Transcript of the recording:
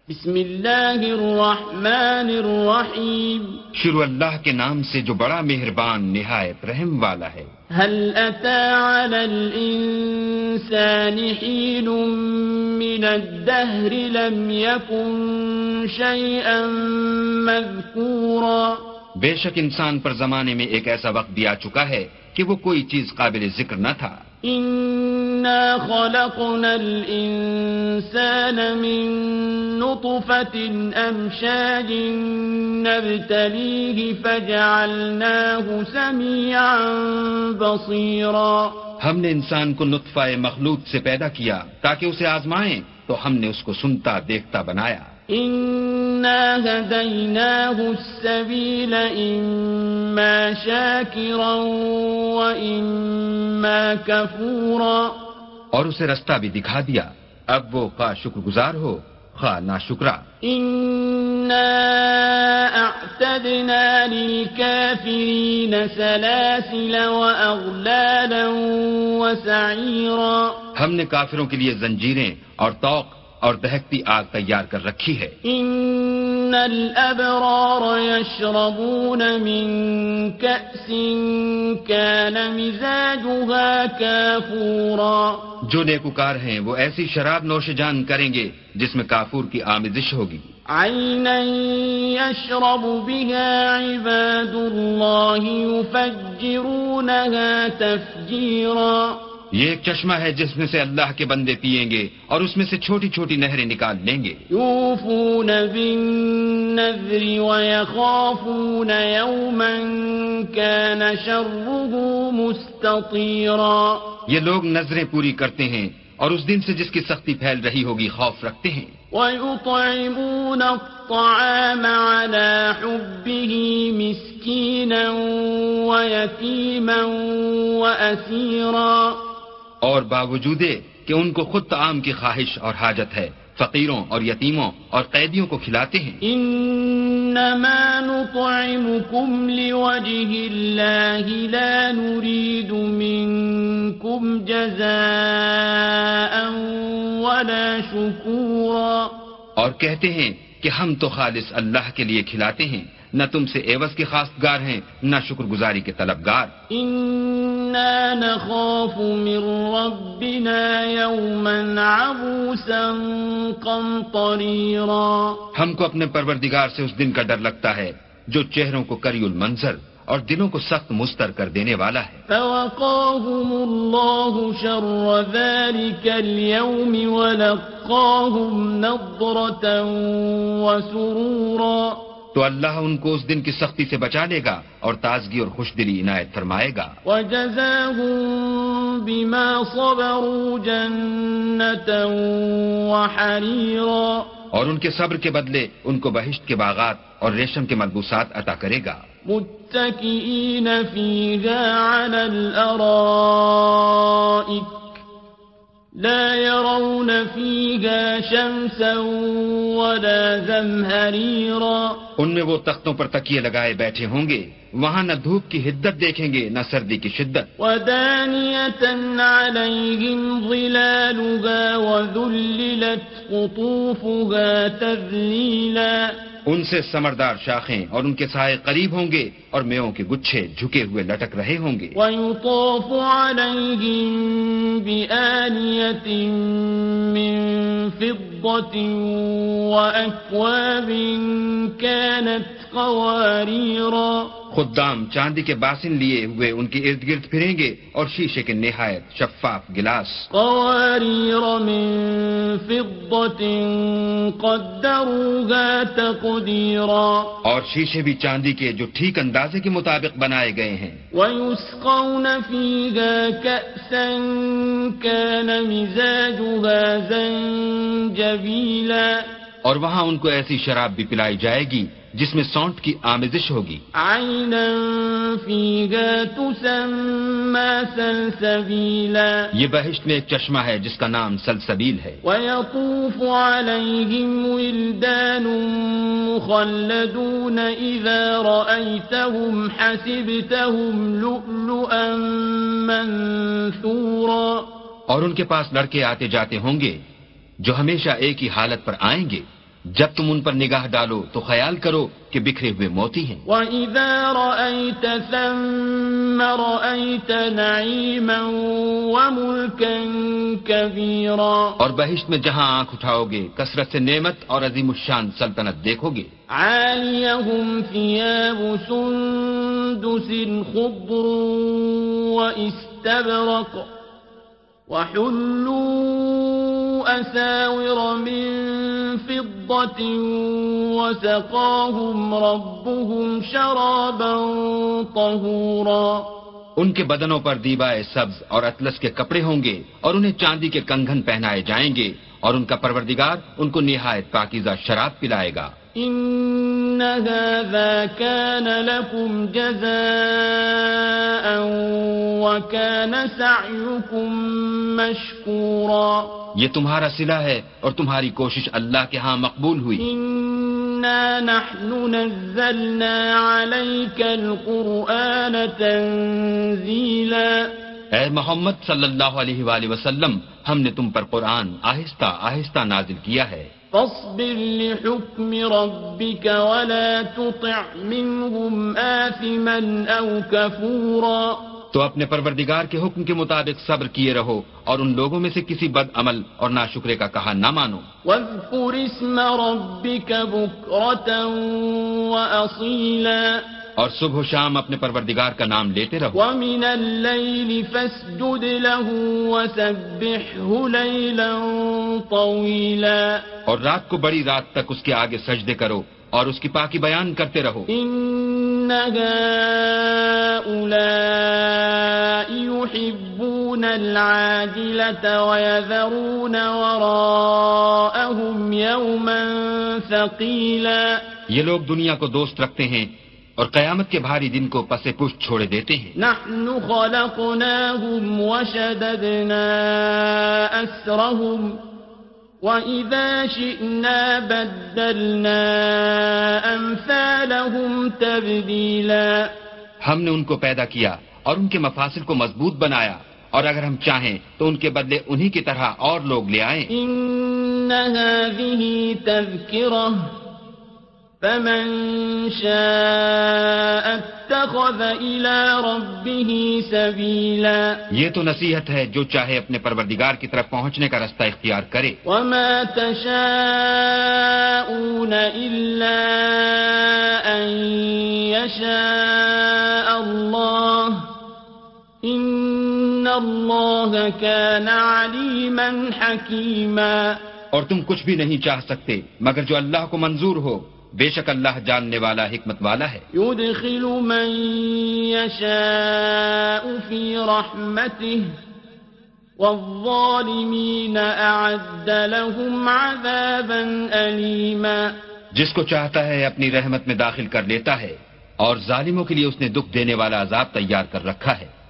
بسم اللہ الرحمن الرحیم. شروع اللہ کے نام سے جو بڑا مہربان نہایت رحم والا ہے. هل أتى على الإنسان حين من الدهر لم يكن شيئا مذكورا. بے شک انسان پر زمانے میں ایک ایسا وقت بھی آ چکا ہے کہ وہ کوئی چیز قابل ذکر نہ تھا. إنا خلقنا الإنسان من نطفة أمشاج نبتليه فجعلناه سميعا بصيرا. ہم نے انسان کو نطفہ مخلوق سے پیدا کیا تاکہ اسے آزمائیں تو ہم نے اس کو سنتا دیکھتا بنایا. إنا هديناه السبيل إما شاكرا وإما كفورا. اور اسے رستہ بھی دکھا دیا، اب وہ خواہ شکر گزار ہو خواہ ناشکرا. إنا أعتدنا للكافرين سلاسل وأغلالا وسعيرا. ہم نے کافروں کے لیے زنجیریں اور طوق اور دہکتی آگ تیار کر رکھی ہے. إن الأبرار يشربون من كأس كان مزاجها كافورا. جو نیکوکار ہیں وہ ایسی شراب نوش جان کریں گے جس میں کافور کی آمیزش ہوگی. عينا يشرب بها عباد الله يفجرونها تفجيرا. یہ ایک چشمہ ہے جس میں سے اللہ کے بندے پیئیں گے اور اس میں سے چھوٹی چھوٹی نہریں نکال لیں گے. يوفون بالنذر ويخافون يوما كان شره مستطيرا. یہ لوگ نظریں پوری کرتے ہیں اور اس دن سے جس کی سختی پھیل رہی ہوگی خوف رکھتے ہیں. ويطعمون الطعام على حبه مسكينا ويتيما وأسيرا. اور باوجود کہ ان کو خود طعام کی خواہش اور حاجت ہے فقیروں اور یتیموں اور قیدیوں کو کھلاتے ہیں. انما نطعمكم لوجه الله لا نريد منكم جزاء ولا شكورا. اور کہتے ہیں کہ ہم تو خالص اللہ کے لیے کھلاتے ہیں، نہ تم سے عوض کے خواستگار ہیں نہ شکر گزاری کے طلبگار. إنا نخاف من ربنا يوما عبوسا قمطريرا. ہم کو اپنے پروردگار سے اس دن کا ڈر لگتا ہے جو چہروں کو کری المنظر اور دلوں کو سخت مستر کر دینے والا ہے. فوقاهم الله شر ذلك اليوم ولقاهم نضرة وسرورا. تو اللہ ان کو اس دن کی سختی سے بچا لے گا اور تازگی اور خوش دلی عنایت فرمائے گا. وجزاهم بما صبروا جنة وحريرا. اور ان کے صبر کے بدلے ان کو بہشت کے باغات اور ریشم کے ملبوسات عطا کرے گا. متكئين فيها على الأرائك لا يرون فيها شمسا ولا زمهريرا. ان میں وہ تختوں پر تکیے لگائے بیٹھے ہوں گے، وہاں نہ دھوپ کی حدت دیکھیں گے نہ سردی کی شدت. ودانية عليهم ظلالها وذللت قطوفها تذليلا. ان سے ثمردار شاخیں اور ان کے سائے قریب ہوں گے اور میووں کے گچھے جھکے ہوئے لٹک رہے ہوں گے. ويطاف عليهم بآنية من فضة وأكواب كانت قواريرا. خدام چاندی کے باسن لیے ہوئے ان کے ارد گرد پھریں گے اور شیشے کے نہایت شفاف گلاس. قوارير من فضة قدروها تقديرا. اور شیشے بھی چاندی کے جو ٹھیک اندازے کے مطابق بنائے گئے ہیں. ويسقون فيها كأسا كان مزاجها زنجبيلا. اور وہاں ان کو ایسی شراب بھی پلائی جائے گی جس میں سونٹ کی آمیزش ہوگی. عينا فيها تسمى سلسبيلا. یہ بہشت میں ایک چشمہ ہے جس کا نام سلسبیل ہے. ويطوف عليهم ولدان مخلدون إذا رأيتهم حسبتهم لؤلؤا منثورا. اور ان کے پاس لڑکے آتے جاتے ہوں گے جو ہمیشہ ایک ہی حالت پر آئیں گے، جب تم ان پر نگاہ ڈالو تو خیال کرو کہ بکھرے ہوئے موتی ہیں. وَإِذَا رَأَيْتَ ثَمَّ رَأَيْتَ نَعِيمًا وَمُلْكًا كَبِيرًا. اور بہشت میں جہاں آنکھ اٹھاؤ گے کثرت سے نعمت اور عظیم الشان سلطنت دیکھو گے. عَالِيَهُمْ ثِيَابُ سُندُسٍ خُضْرٌ وَإِسْتَبْرَقٌ وَحُلُّوا أَسَاوِرَ مِن فِضَّةٍ وَسَقَاهُمْ رَبُّهُمْ شَرَابًا طَهُورًا. ان کے بدنوں پر دیبائے سبز اور اطلس کے کپڑے ہوں گے اور انہیں چاندی کے کنگن پہنائے جائیں گے اور ان کا پروردگار ان کو نہایت پاکیزہ شراب پلائے گا. إِنَّ هَذَا كَانَ لَكُمْ جَزَاءً وَكَانَ سَعْيُكُمْ مَشْكُورًا. یہ تمہارا صلہ ہے اور تمہاری کوشش اللہ کے ہاں مقبول ہوئی. إِنَّا نَحْنُ نَزَّلْنَا عَلَيْكَ الْقُرْآنَ تَنزِيلًا. اے محمد صلی اللہ علیہ وآلہ وسلم ہم نے تم پر قرآن آہستہ آہستہ نازل کیا ہے. فاصبر لحكم ربك ولا تطع منهم آثما أو كفورا. تو اپنے پروردگار کے حکم کے مطابق صبر کیے رہو اور ان لوگوں میں سے کسی بد عمل اور ناشکرے کا کہا نہ مانو. واذكر اسم ربك بكرة وأصيلا. اور صبح و شام اپنے پروردگار کا نام لیتے رہو. ومن الليل فاسجد له وسبحه ليلا طويلا. اور رات کو بڑی رات تک اس کے آگے سجدے کرو اور اس کی پاکی بیان کرتے رہو. إن هؤلاء يحبون العاجلة ويذرون وراءهم يوما ثقيلا. یہ لوگ دنیا کو دوست رکھتے ہیں اور قیامت کے بھاری دن کو پس پشت چھوڑے دیتے ہیں. نحن خلقناهم وشددنا أسرهم وَإِذَا شِئْنَا بَدَّلْنَا أَمْثَالَهُمْ تَبْدِيلًا. ہم نے ان کو پیدا کیا اور ان کے مفاصل کو مضبوط بنایا اور اگر ہم چاہیں تو ان کے بدلے انہی کی طرح اور لوگ لے آئیں. إِنَّ هَذِهِ تَذْكِرَةٌ فَمَن شَاءَ اتَّخَذَ إِلَى رَبِّهِ سَبِيلًا. یہ تو نصیحت ہے جو چاہے اپنے پروردگار کی طرف پہنچنے کا رستہ اختیار کرے. وَمَا تَشَاءُونَ إِلَّا أَن يَشَاءَ اللَّهُ إِنَّ اللَّهَ كَانَ عَلِيمًا حَكِيمًا. اور تم کچھ بھی نہیں چاہ سکتے مگر جو اللہ کو منظور ہو. بے شک اللہ جاننے والا حکمت والا ہے. يدخل من يشاء في رحمته والظالمين أعد لهم عذابا أليما. جس کو چاہتا ہے اپنی رحمت میں داخل کر لیتا ہے اور ظالموں کے لیے اس نے دکھ دینے والا عذاب تیار کر رکھا ہے.